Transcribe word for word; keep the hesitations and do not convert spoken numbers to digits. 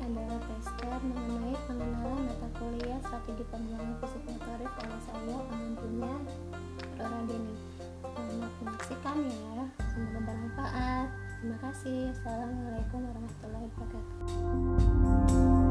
adalah tester mengenai pengenalan mata kuliah strategi pengembangan fisik motorik oleh saya pengunjungnya Rora Deni. Selamat menyaksikan ya, semoga bermanfaat. Terima kasih. Assalamualaikum warahmatullahi wabarakatuh.